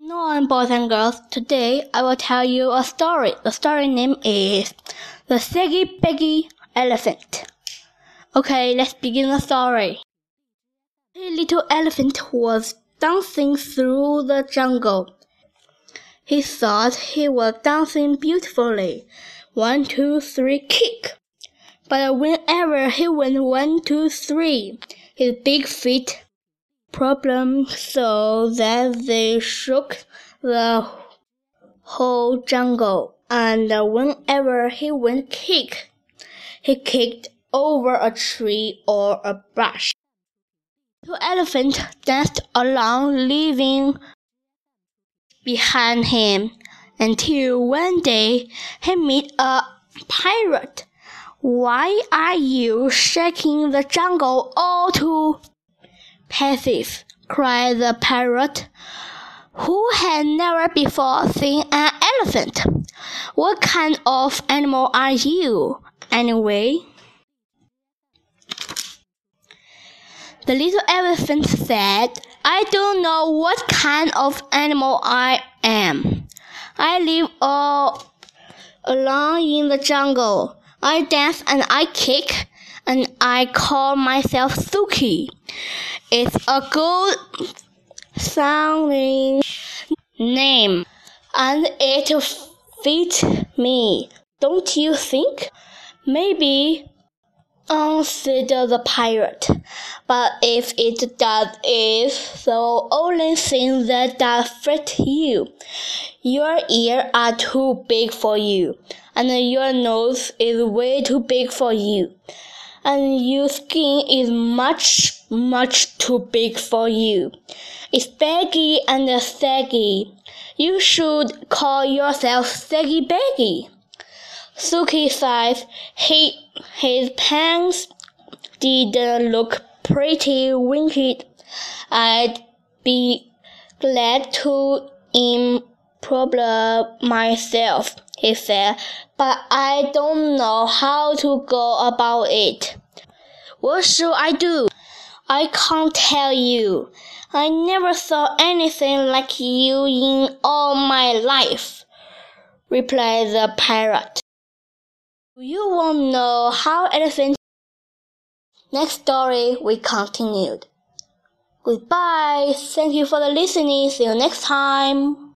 Hello, boys and girls. Today I will tell you a story. The story name is The Saggy Baggy Elephant. Okay, let's begin the story. A little elephant was dancing through the jungle. He thought he was dancing beautifully. 1, 2, 3, kick! But whenever he went 1, 2, 3, his big feet problem so that they shook the whole jungle, and whenever he went kick, he kicked over a tree or a brush. The elephant danced along, leaving behind him, until one day he met a pirate. "Why are you shaking the jungle all to pieces?" cried the pirate, who had never before seen an elephant. "What kind of animal are you, anyway?" The little elephant said, "I don't know what kind of animal I am. I live all alone in the jungle. I dance and I kick, and I call myself Suki. It's a good sounding name, and it fits me, don't you think?" "Maybe," answered the pirate, "but if it does, it's the only thing that does fit you. Your ears are too big for you, and your nose is way too big for you, and your skin is much, much too big for you. It's baggy and saggy. You should call yourself Saggy Baggy." Suki sighed. His pants didn't look pretty wicked. "I'd be glad to improve myself," he said, "but I don't know how to go about it." "What should I do?" "I can't tell you. I never saw anything like you in all my life," replied the pirate. Do you want to know how elephants? Next story we continued. Goodbye. Thank you for the listening. See you next time.